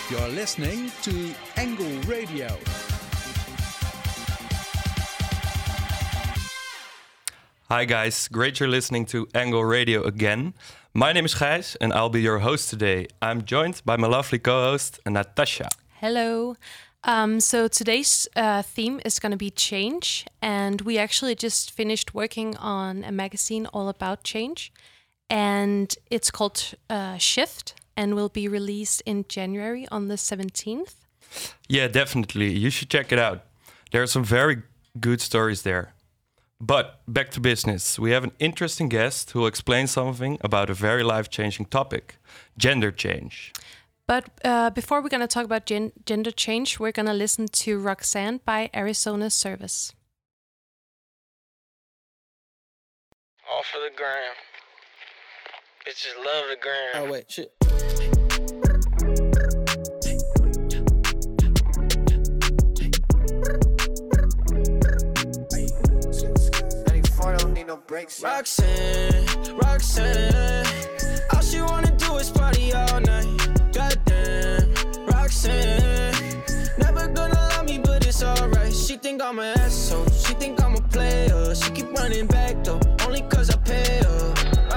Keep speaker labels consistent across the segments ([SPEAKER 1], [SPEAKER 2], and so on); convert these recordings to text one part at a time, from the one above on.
[SPEAKER 1] You're listening to Angle Radio.
[SPEAKER 2] Hi guys, great you're listening to Angle Radio again. My name is Gijs and I'll be your host today. I'm joined by my lovely co-host, Natasha.
[SPEAKER 3] Hello. So today's theme is going to be change, and we actually just finished working on a magazine all about change, and it's called Shift, and will be released in January on the 17th.
[SPEAKER 2] Yeah, definitely. You should check it out. There are some very good stories there. But back to business. We have an interesting guest who will explain something about a very life-changing topic, gender change.
[SPEAKER 3] But before we're going to talk about gender change, we're going to listen to Roxanne by Arizona Service.
[SPEAKER 4] All for the gram. Bitches love the gram.
[SPEAKER 5] Oh, wait, shit.
[SPEAKER 4] No breaks.
[SPEAKER 5] Roxanne, all she wanna do is party all night. Goddamn, Roxanne, never gonna love me, but it's alright. She think I'm an asshole, she think I'm a player. She keep running back though, only cause I pay her.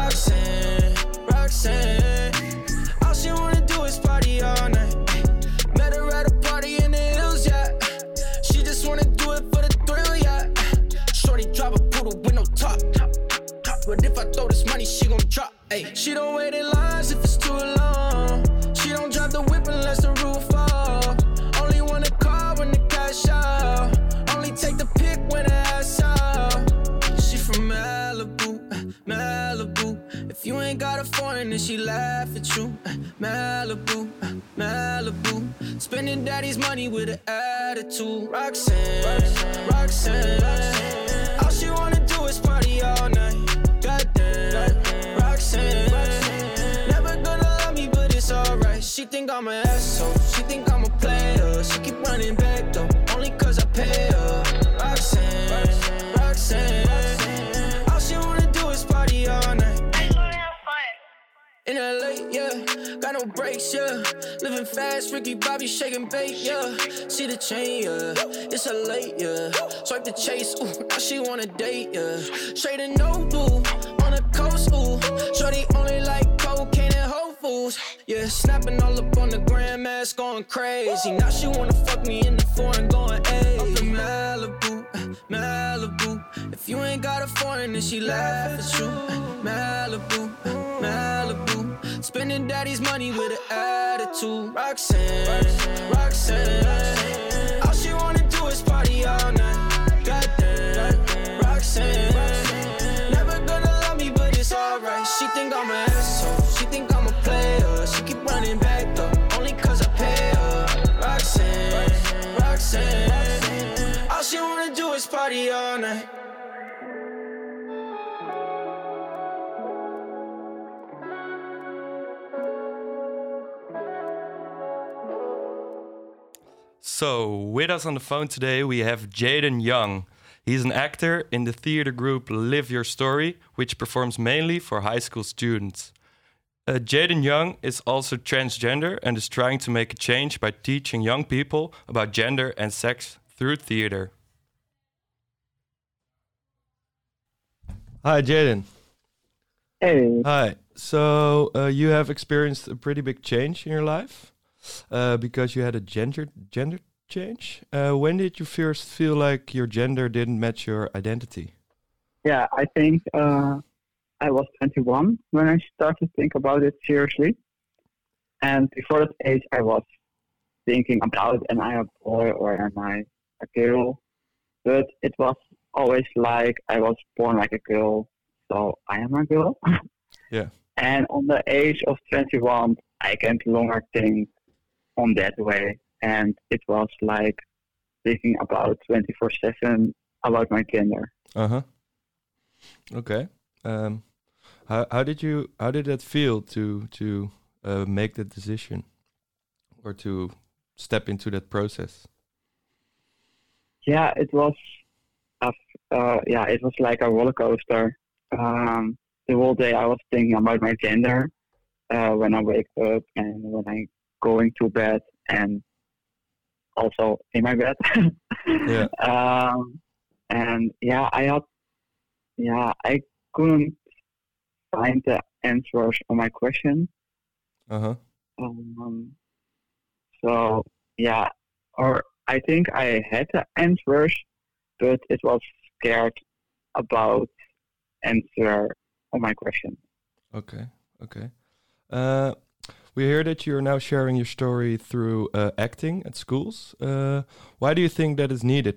[SPEAKER 5] Roxanne, all she wanna do is party all night. Met her at a party in the hills, yeah. She just wanna do it for the thrill, yeah. Shorty drive a poodle with no top. But if I throw this money, she gon' drop. Ay. She don't wait in lines if it's too long. She don't drive the whip unless the roof fall. Only want a car when the cash out. Only take the pic when the ass out. She from Malibu, Malibu. If you ain't got a foreign, then she laugh at you. Malibu, Malibu. Spending daddy's money with an attitude. Roxanne. All she wanna do is party all night. Goddamn, Roxanne, never gonna love me, but it's alright. She think I'm an asshole, she think I'm a player. She keep running back though, only cause I pay her. Roxanne, all she wanna do is party all night. In LA, yeah, got no brakes, yeah. Living fast, Ricky Bobby shaking bait, yeah. See the chain, yeah, it's a late, yeah. Swipe the chase, ooh, now she wanna date, yeah. Straight and no blue, on the coast, ooh. Shorty only like cocaine and Whole Foods, yeah. Snapping all up on the grandmas, going crazy. Now she wanna fuck me in the foreign, going, ayy. I'm from Malibu, Malibu. If you ain't got a foreign, then she laugh at you. Malibu, Malibu. Spending daddy's money with an attitude. Roxanne, all she wanna do is party all night. Goddamn, Roxanne, never gonna love me, but it's alright. She think I'm an asshole, she think I'm a player. She keep running back though, only cause I pay her. Roxanne, all she wanna do is party all night.
[SPEAKER 2] So, with us on the phone today, we have Jaden Young. He's an actor in the theater group Live Your Story, which performs mainly for high school students. Jaden Young is also transgender and is trying to make a change by teaching young people about gender and sex through theater. Hi, Jaden.
[SPEAKER 6] Hey.
[SPEAKER 2] Hi. So, you have experienced a pretty big change in your life because you had a gender change. When did you first feel like your gender didn't match your identity?
[SPEAKER 6] Yeah, I think I was 21 when I started to think about it seriously. And before that age, I was thinking about, am I a boy or am I a girl? But it was always like I was born like a girl, so I am a girl.
[SPEAKER 2] Yeah.
[SPEAKER 6] And on the age of 21, I can no longer think on that way. And it was like thinking about 24/7 about my gender.
[SPEAKER 2] Uh-huh. Okay. How did that feel to make that decision or to step into that process?
[SPEAKER 6] Yeah, it was like a roller coaster. The whole day I was thinking about my gender when I wake up and when I going to bed, and also in my bed.
[SPEAKER 2] Yeah.
[SPEAKER 6] And I couldn't find the answers on my question.
[SPEAKER 2] Uh-huh.
[SPEAKER 6] So yeah, or I think I had the answers, but it was scared about answer on my question.
[SPEAKER 2] Okay. We hear that you're now sharing your story through acting at schools. Why do you think that is needed?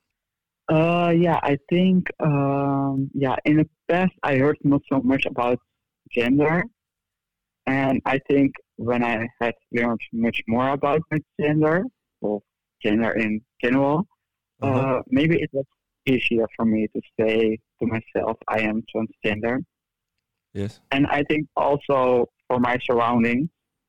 [SPEAKER 6] I think in the past I heard not so much about gender, and I think when I had learned much more about my gender or gender in general, maybe it was easier for me to say to myself I am transgender.
[SPEAKER 2] Yes.
[SPEAKER 6] And I think also for my surroundings,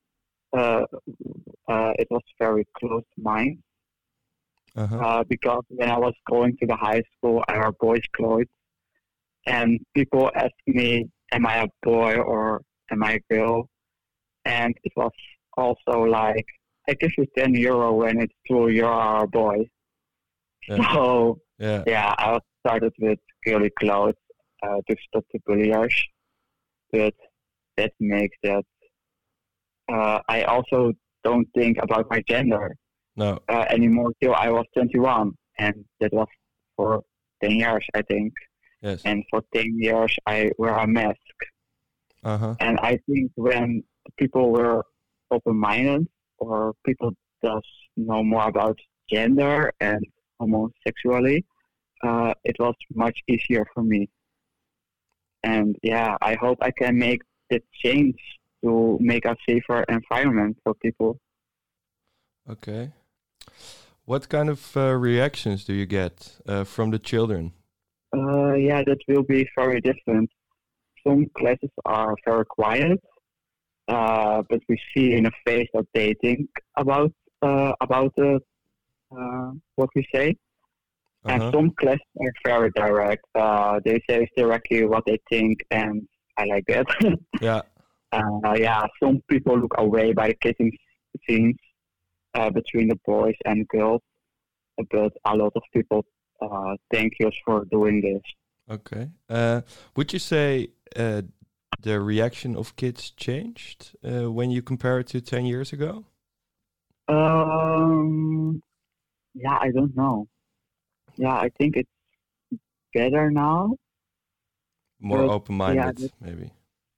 [SPEAKER 6] it was very close to mine. Because when I was going to the high school, I wore boys' clothes, and people asked me, "Am I a boy or am I a girl?" And it was also like, "I give you €10 when it's true you are a boy."
[SPEAKER 2] Yeah.
[SPEAKER 6] So
[SPEAKER 2] Yeah.
[SPEAKER 6] I started with girly clothes to stop the bullies, but that makes that I also don't think about my gender.
[SPEAKER 2] No.
[SPEAKER 6] Anymore till I was 21, and that was for 10 years, I think.
[SPEAKER 2] Yes.
[SPEAKER 6] And for 10 years, I wear a mask. And I think when people were open-minded, or people just know more about gender and homosexuality, it was much easier for me. And I hope I can make the change to make a safer environment for people.
[SPEAKER 2] Okay. What kind of reactions do you get from the children?
[SPEAKER 6] That will be very different. Some classes are very quiet, but we see in a face that they think about what we say. And some classes are very direct. They say directly what they think, and I like that.
[SPEAKER 2] Yeah.
[SPEAKER 6] Some people look away by the kissing scenes between the boys and girls, but a lot of people thank you for doing this.
[SPEAKER 2] Okay. Would you say the reaction of kids changed when you compare it to 10 years ago?
[SPEAKER 6] I don't know. I think it's better now.
[SPEAKER 2] More open-minded, maybe.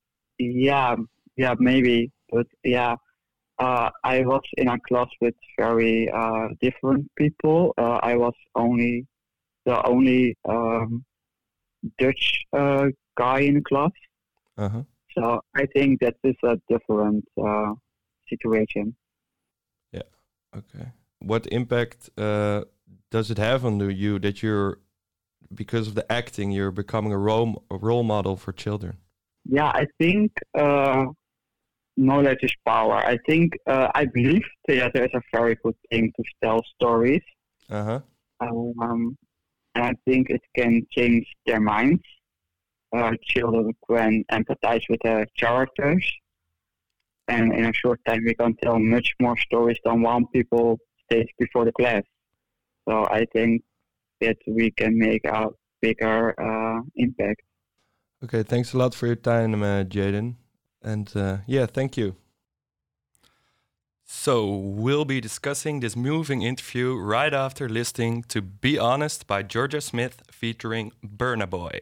[SPEAKER 6] Maybe. But I was in a class with very different people. I was the only Dutch guy in the class. So I think that is a different situation.
[SPEAKER 2] Yeah. Okay. What impact does it have on you that because of the acting, you're becoming a role model for children?
[SPEAKER 6] I think knowledge is power. I think I believe theater is a very good thing to tell stories. And I think it can change their minds. Children can empathize with the characters, and in a short time we can tell much more stories than one people stage before the class. So I think that we can make a bigger impact.
[SPEAKER 2] Okay, thanks a lot for your time, Jaden. And thank you. So we'll be discussing this moving interview right after listening to Be Honest by Georgia Smith featuring Burna Boy.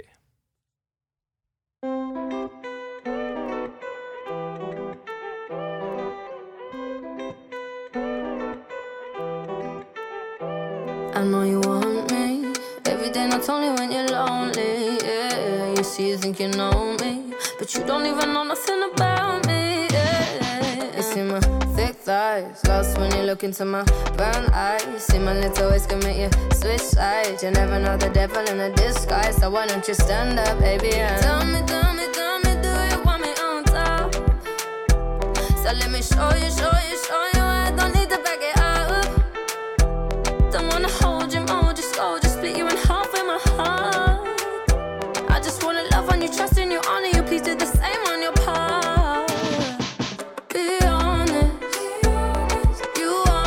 [SPEAKER 7] I know you want me every day, not only when you're lonely. Yeah, you see, you think you know me, but you don't even know nothing about me. Yeah, you see my thick thighs, lost when you look into my brown eyes. See my little ways can make you switch sides. You never know the devil in a disguise, so why don't you stand up, baby? And tell me, do you want me on top? So let me show you. I don't need to back it up. Don't wanna hold you, mold you, scold you, split you in half with my heart. I just wanna love on you, trust in you, honor you. Please do the same on your part. Be honest, you are.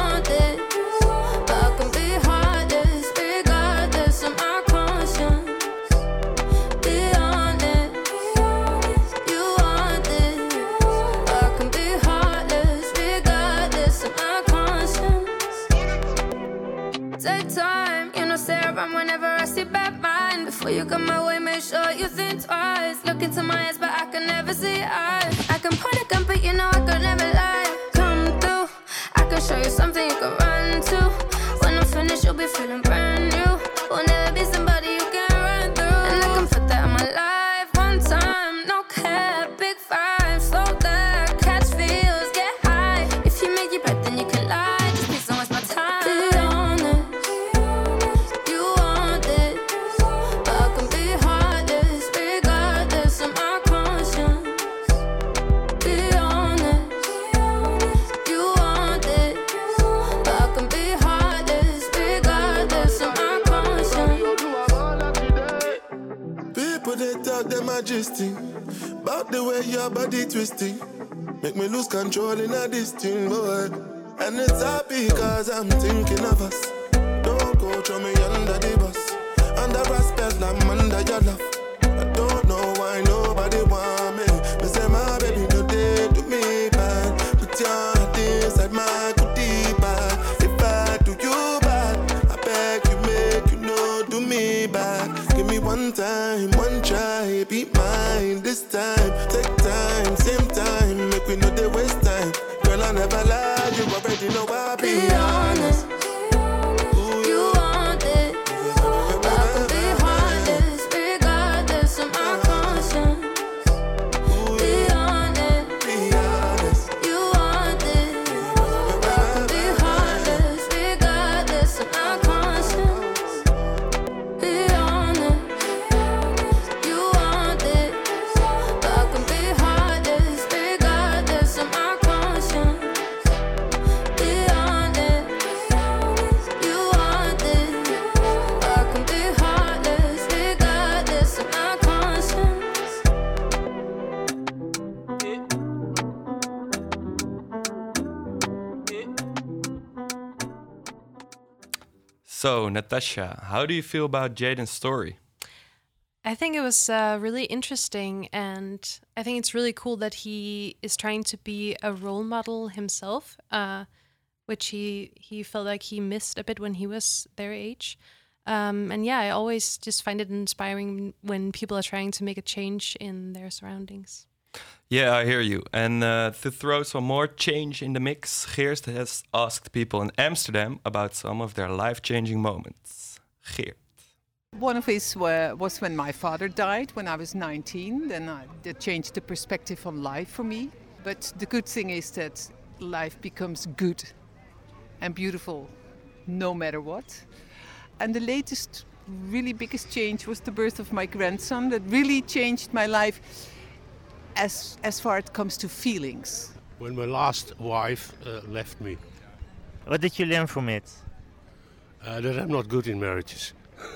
[SPEAKER 7] around whenever I see bad mind. Before you come my way, make sure you think twice. Look into my eyes, but I can never see eyes. I can point a gun, but you know I could never lie. Come through, I can show you something you can run to. When I'm finished, you'll be feeling brand new. Will never be somebody you can run through. And I can put that in my life one time. No care, big five, slow down, catch feels, get high. If you make your bet, then you can lie. Just please don't waste my time. Be honest, you want it, but I can be heartless, regardless of my conscience. Be honest, you want it, but I can be heartless, regardless of my conscience.
[SPEAKER 8] People they talk them majesty about the way your body twisting. Make me lose control in a this thing, boy. And it's happy cause I'm thinking of us. Don't go throw me under the bus. Under respect, I'm under your love. I don't know why nobody want me. Me say my baby no day to me bad. Put your heart inside my goodie bag. If I do you bad, I beg you make you know do me bad. Give me one time, one try, be mine this time. Take time, same time, make we know they waste time. Girl, I never lie, you already know I be honest.
[SPEAKER 7] You want it, but I can be heartless, regardless of my conscience. Be honest, you want it, but I can be heartless, regardless of my conscience. Be honest, you want it, but I can be heartless, regardless of my conscience. Be honest, you want it, but I can be heartless, regardless of my conscience.
[SPEAKER 2] So, Natasha, how do you feel about Jaden's story?
[SPEAKER 3] I think it was really interesting, and I think it's really cool that he is trying to be a role model himself, which he felt like he missed a bit when he was their age. And yeah, I always just find it inspiring when people are trying to make a change in their surroundings.
[SPEAKER 2] Yeah, I hear you. And to throw some more change in the mix, Geert has asked people in Amsterdam about some of their life-changing moments. Geert.
[SPEAKER 9] One of his was when my father died when I was 19. Then that changed the perspective on life for me. But the good thing is that life becomes good and beautiful no matter what. And the latest, really biggest change was the birth of my grandson. That really changed my life as far as it comes to feelings.
[SPEAKER 10] When my last wife left me.
[SPEAKER 11] What did you learn from it?
[SPEAKER 10] That I'm not good in marriages.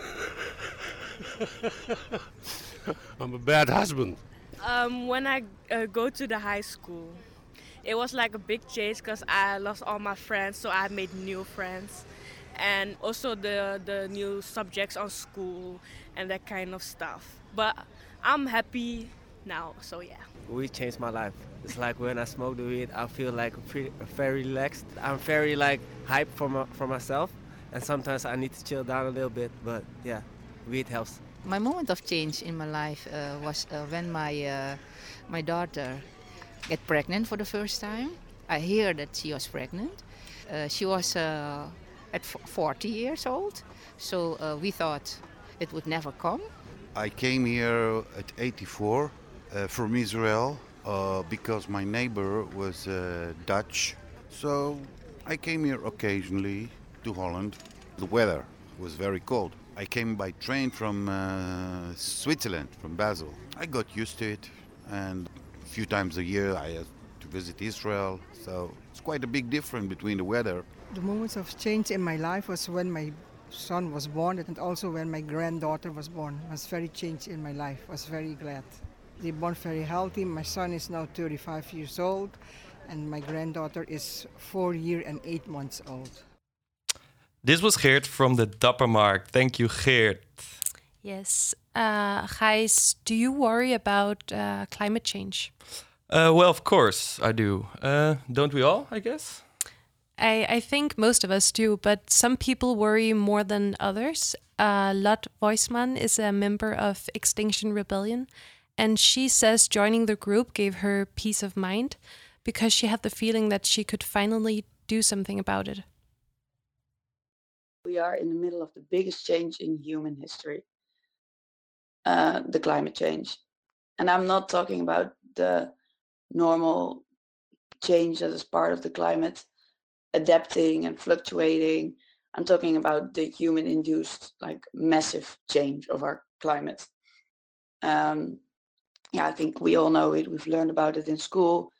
[SPEAKER 10] I'm a bad husband.
[SPEAKER 12] When I go to the high school, it was like a big change because I lost all my friends, so I made new friends. And also the new subjects on school and that kind of stuff. But I'm happy now, so yeah.
[SPEAKER 13] Weed changed my life. It's like when I smoke the weed, I feel like very relaxed. I'm very like hyped for myself, and sometimes I need to chill down a little bit. But yeah, weed helps.
[SPEAKER 14] My moment of change in my life was when my daughter get pregnant for the first time. I hear that she was pregnant. She was at 40 years old, so we thought it would never come.
[SPEAKER 15] I came here at 84 from Israel because my neighbor was Dutch. So I came here occasionally to Holland. The weather was very cold. I came by train from Switzerland, from Basel. I got used to it, and a few times a year I had to visit Israel. So it's quite a big difference between the weather.
[SPEAKER 16] The moments of change in my life was when my son was born and also when my granddaughter was born. It was very changed in my life. I was very glad. They born very healthy. My son is now 35 years old and my granddaughter is 4 years and 8 months old.
[SPEAKER 2] This was Geert from the Dappermarkt. Thank you, Geert.
[SPEAKER 3] Yes. Gijs, do you worry about climate change?
[SPEAKER 2] Well, of course I do. Don't we all, I guess?
[SPEAKER 3] I think most of us do, but some people worry more than others. Lot Voisman is a member of Extinction Rebellion, and she says joining the group gave her peace of mind because she had the feeling that she could finally do something about it.
[SPEAKER 17] We are in the middle of the biggest change in human history, the climate change. And I'm not talking about the normal change that is part of the climate, adapting and fluctuating. I'm talking about the human-induced, like, massive change of our climate. I think we all know it. We've learned about it in school.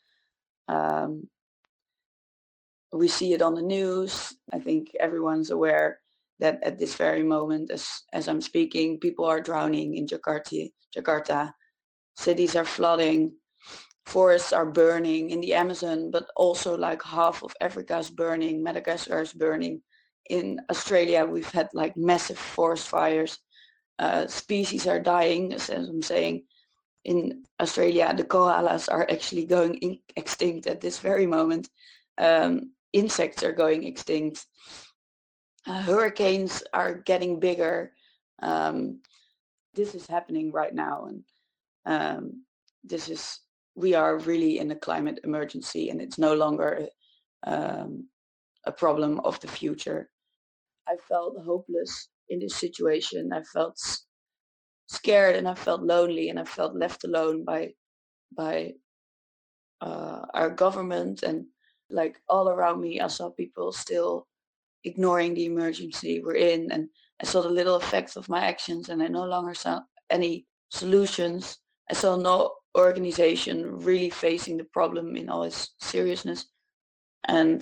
[SPEAKER 17] We see it on the news. I think everyone's aware that at this very moment, as I'm speaking, people are drowning in Jakarta. Cities are flooding. Forests are burning in the Amazon, but also like half of Africa is burning. Madagascar is burning. In Australia, we've had like massive forest fires. Species are dying, as I'm saying. In Australia, the koalas are actually going extinct at this very moment. Insects are going extinct. Hurricanes are getting bigger. This is happening right now, and we are really in a climate emergency, and it's no longer a problem of the future. I felt hopeless in this situation. I felt scared, and I felt lonely, and I felt left alone by our government, and like all around me, I saw people still ignoring the emergency we're in, and I saw the little effects of my actions, and I no longer saw any solutions. I saw no organization really facing the problem in all its seriousness, and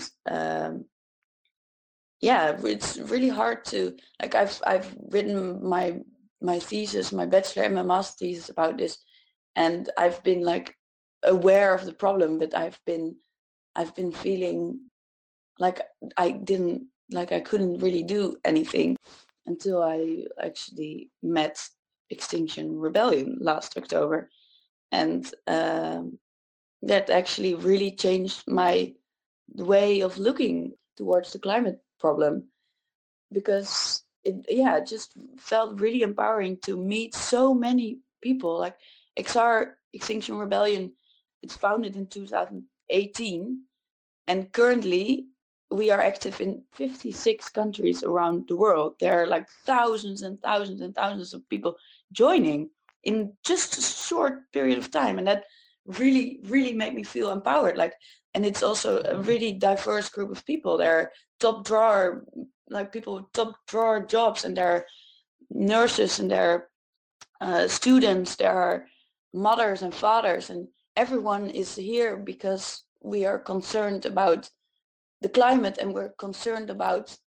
[SPEAKER 17] it's really hard to, like, I've written my thesis, my bachelor and my master thesis about this, and I've been like aware of the problem, but I've been feeling like I couldn't really do anything until I actually met Extinction Rebellion last October, and that actually really changed my way of looking towards the climate problem, because it just felt really empowering to meet so many people. Like XR, Extinction Rebellion, it's founded in 2018, and currently we are active in 56 countries around the world. There are like thousands and thousands and thousands of people joining in just a short period of time, and that really, really made me feel empowered. Like, and it's also a really diverse group of people. There are top drawer, like people with top drawer jobs, and there are nurses, and there are students, there are mothers and fathers, and everyone is here because we are concerned about the climate, and we're concerned about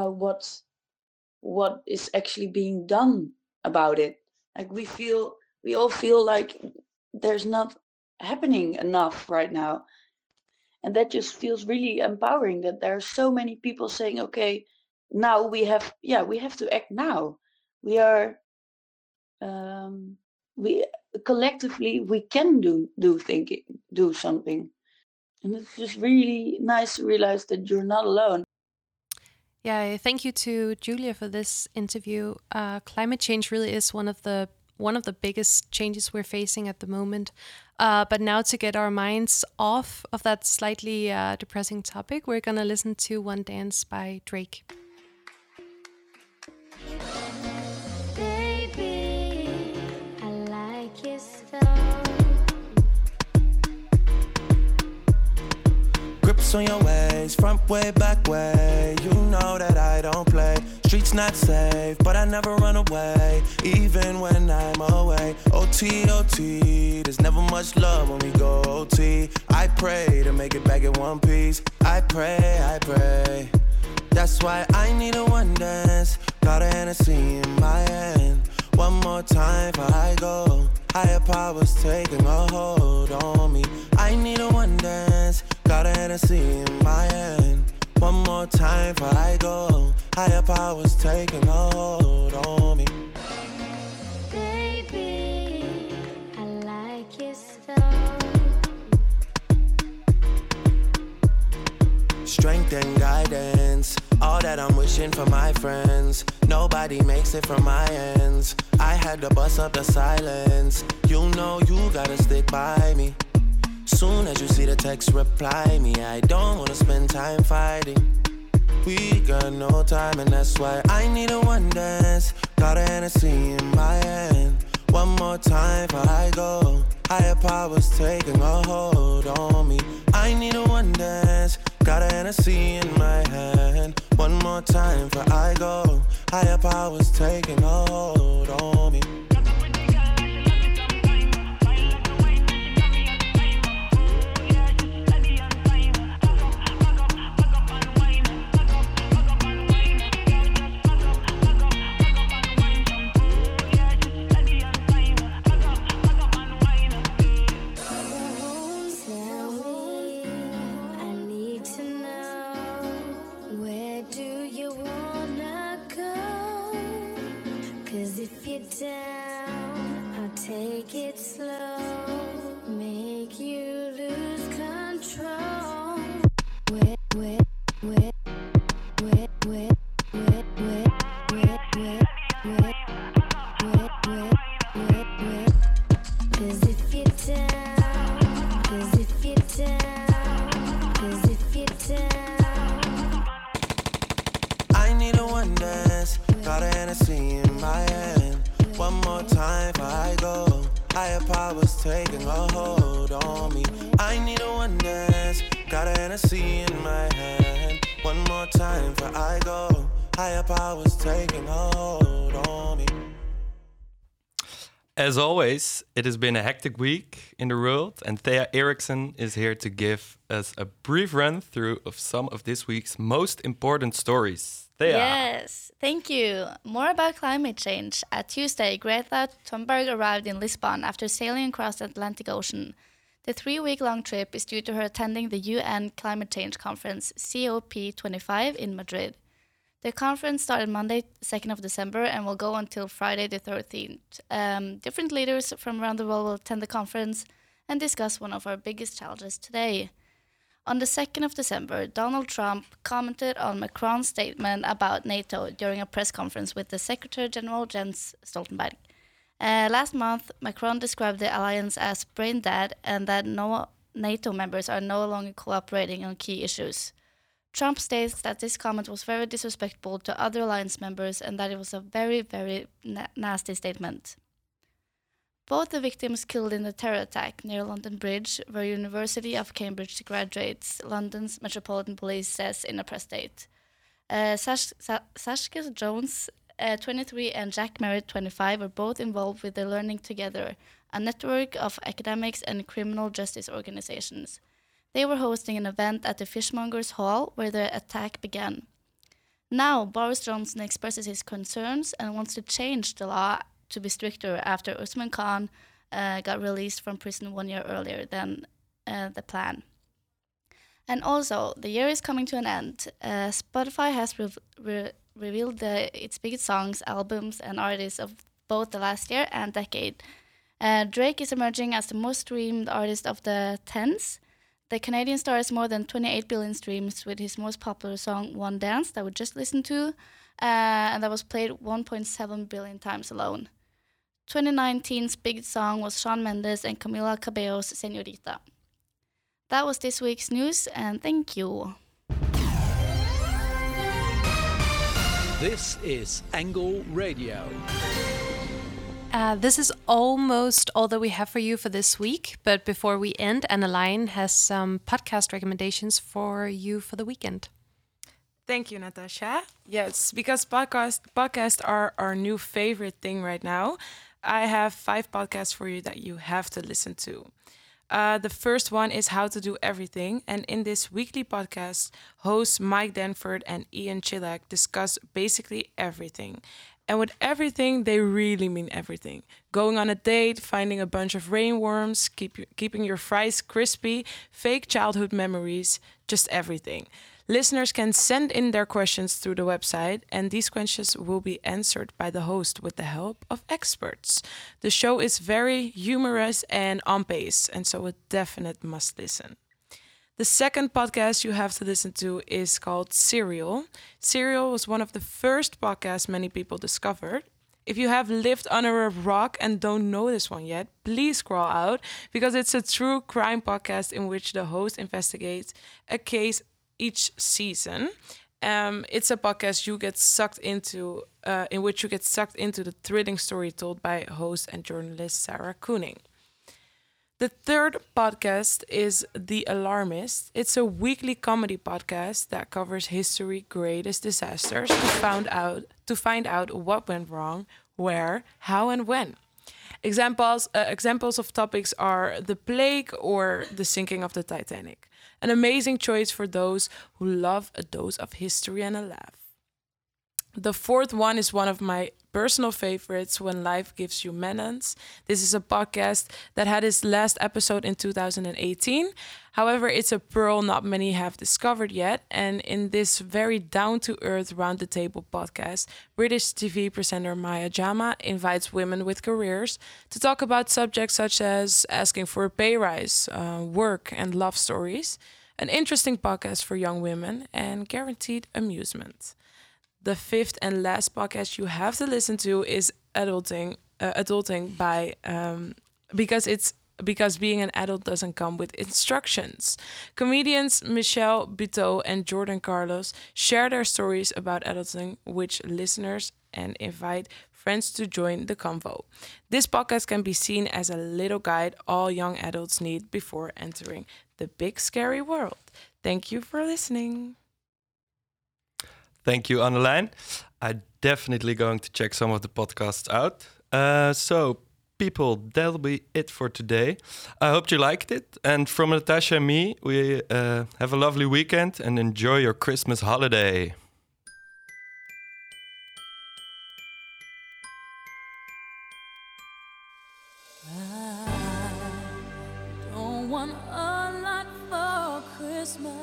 [SPEAKER 17] what is actually being done about it. Like we all feel like there's not happening enough right now, and that just feels really empowering, that there are so many people saying, okay, now we have to act now. We are we collectively we can do something. And it's just really nice to realize that you're not alone.
[SPEAKER 3] Yeah, thank you to Julia for this interview. Climate change really is one of the biggest changes we're facing at the moment. But now, to get our minds off of that slightly depressing topic, we're gonna listen to One Dance by Drake.
[SPEAKER 7] Baby, I like your stuff.
[SPEAKER 18] Grips on your ways, front way, back way. You know that I don't play. Streets not safe, but I never run away, even when I'm away. OT, OT, there's never much love when we go OT. I pray to make it back in one piece. I pray. That's why I need a one dance. Got a Hennessy in my hand. One more time before I go. Higher powers taking a hold on me. I need a one dance. Got a Hennessy in my hand. One more time before I go. Higher powers taking a hold on me.
[SPEAKER 7] Baby, I like your stuff.
[SPEAKER 18] Strength and guidance, all that I'm wishing reaching for my friends. Nobody makes it from my ends. I had to bust up the silence. You know you gotta stick by me. Soon as you see the text, reply me. I don't wanna spend time fighting. We got no time and that's why I need a one dance. Got a Hennessy in my hand. One more time before I go. Higher powers taking a hold on me. I need a one dance. Got a Hennessy in my hand. One more time before I go. Higher powers taking a hold on me.
[SPEAKER 7] Down, I'll take it slow, make you lose control. Wet, wet, wet, wet, wet, wet, wet, wet, wet, wet, wet, wet, wet, wet. 'Cause if you're down, 'cause if you're down, 'cause if you're down.
[SPEAKER 18] I need a one dance. Got a Hennessy in my hand. One more time before I go. Higher powers taking a hold on me. I need a one dance. Got a Hennessy in my hand. One more time before I go. Higher powers taking a hold on me.
[SPEAKER 2] As always, it has been a hectic week in the world, and Thea Eriksson is here to give us a brief run through of some of this week's most important stories. Thea.
[SPEAKER 19] Yes, thank you. More about climate change. Tuesday, Greta Thunberg arrived in Lisbon after sailing across the Atlantic Ocean. The 3-week-long trip is due to her attending the UN Climate Change Conference, COP25, in Madrid. The conference started Monday, 2nd of December, and will go until Friday, the 13th. Different leaders from around the world will attend the conference and discuss one of our biggest challenges today. On the 2nd of December, Donald Trump commented on Macron's statement about NATO during a press conference with the Secretary General Jens Stoltenberg. Last month, Macron described the alliance as brain dead and that no NATO members are no longer cooperating on key issues. Trump states that this comment was very disrespectful to other alliance members and that it was a very, very nasty statement. Both the victims killed in the terror attack near London Bridge were University of Cambridge graduates, London's Metropolitan Police says in a press statement. Saskia Jones, 23, and Jack Merritt, 25, were both involved with the Learning Together, a network of academics and criminal justice organizations. They were hosting an event at the Fishmongers Hall where the attack began. Now, Boris Johnson expresses his concerns and wants to change the law to be stricter after Usman Khan got released from prison 1 year earlier than the plan. And also, the year is coming to an end. Spotify has revealed its biggest songs, albums, and artists of both the last year and decade. Drake is emerging as the most streamed artist of the tens. The Canadian star has more than 28 billion streams with his most popular song, One Dance, that we just listened to, and that was played 1.7 billion times alone. 2019's biggest song was Shawn Mendes and Camila Cabello's Señorita. That was this week's news, and thank you.
[SPEAKER 1] This is Angle Radio.
[SPEAKER 3] This is almost all that we have for you for this week. But before we end, Anna-Line has some podcast recommendations for you for the weekend.
[SPEAKER 20] Thank you, Natasha. Yes, because podcasts are our new favorite thing right now. I have 5 podcasts for you that you have to listen to. The first one is How to Do Everything. And in this weekly podcast, hosts Mike Denford and Ian Chilak discuss basically everything. And with everything, they really mean everything. Going on a date, finding a bunch of rainworms, keeping your fries crispy, fake childhood memories, just everything. Listeners can send in their questions through the website, and these questions will be answered by the host with the help of experts. The show is very humorous and on pace, and so a definite must listen. The second podcast you have to listen to is called Serial. Serial was one of the first podcasts many people discovered. If you have lived under a rock and don't know this one yet, please scroll out, because it's a true crime podcast in which the host investigates a case each season. It's a podcast you get sucked into, in which you get sucked into the thrilling story told by host and journalist Sarah Koenig. The third podcast is The Alarmist. It's a weekly comedy podcast that covers history's greatest disasters to find out what went wrong, where, how, and when. Examples of topics are the plague or the sinking of the Titanic. An amazing choice for those who love a dose of history and a laugh. The fourth one is one of my personal favorites, When Life Gives You Melons. This is a podcast that had its last episode in 2018. However, it's a pearl not many have discovered yet. And in this very down-to-earth, round-the-table podcast, British TV presenter Maya Jama invites women with careers to talk about subjects such as asking for a pay rise, work, and love stories. An interesting podcast for young women and guaranteed amusement. The fifth and last podcast you have to listen to is Adulting by because being an adult doesn't come with instructions. Comedians Michelle Buteau and Jordan Carlos share their stories about adulting with listeners and invite friends to join the convo. This podcast can be seen as a little guide all young adults need before entering the big scary world. Thank you for listening.
[SPEAKER 2] Thank you, Annelijn. I'm definitely going to check some of the podcasts out. So, people, that'll be it for today. I hope you liked it. And from Natasha and me, we have a lovely weekend and enjoy your Christmas holiday.
[SPEAKER 7] I don't want a lot for Christmas.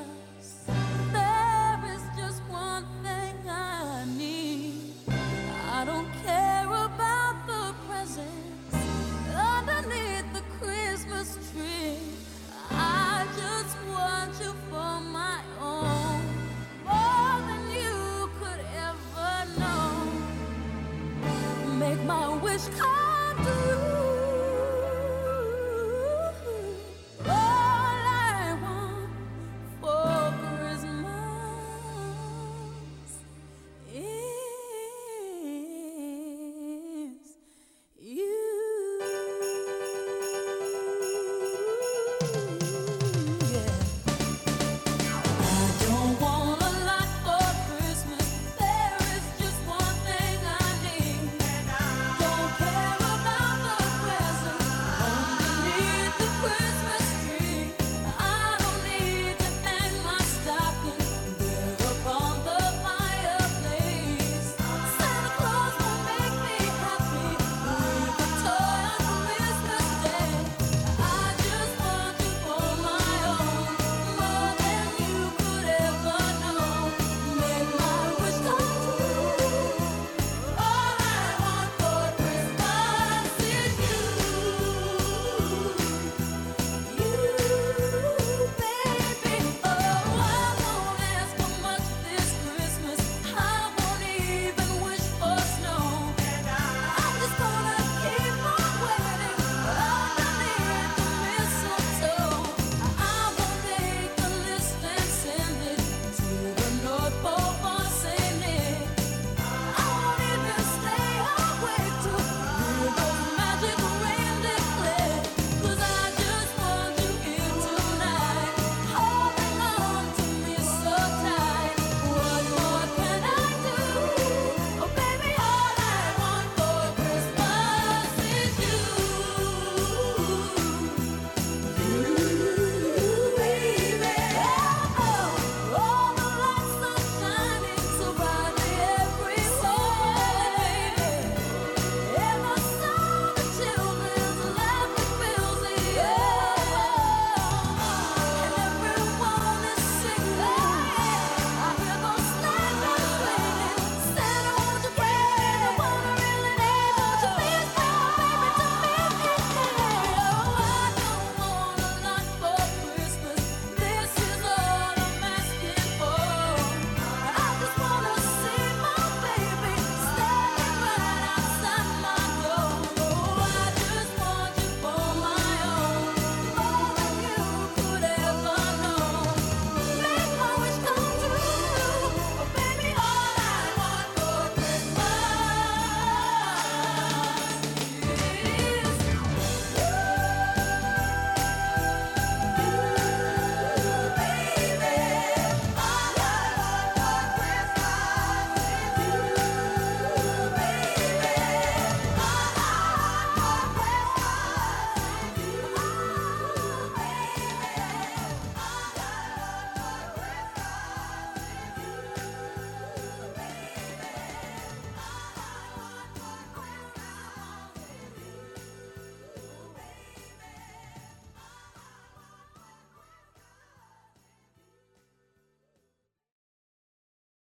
[SPEAKER 7] I don't care about the presents underneath the Christmas tree. I just want you for my own, more than you could ever know. Make my wish come true.